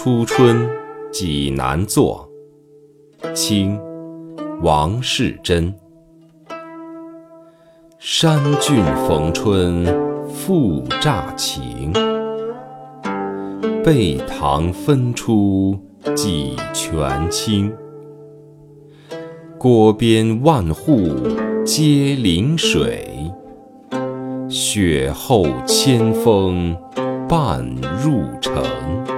初春济南作，清·王士祯。山峻逢春复乍晴，背塘分出几泉清。郭边万户皆临水，雪后千峰半入城。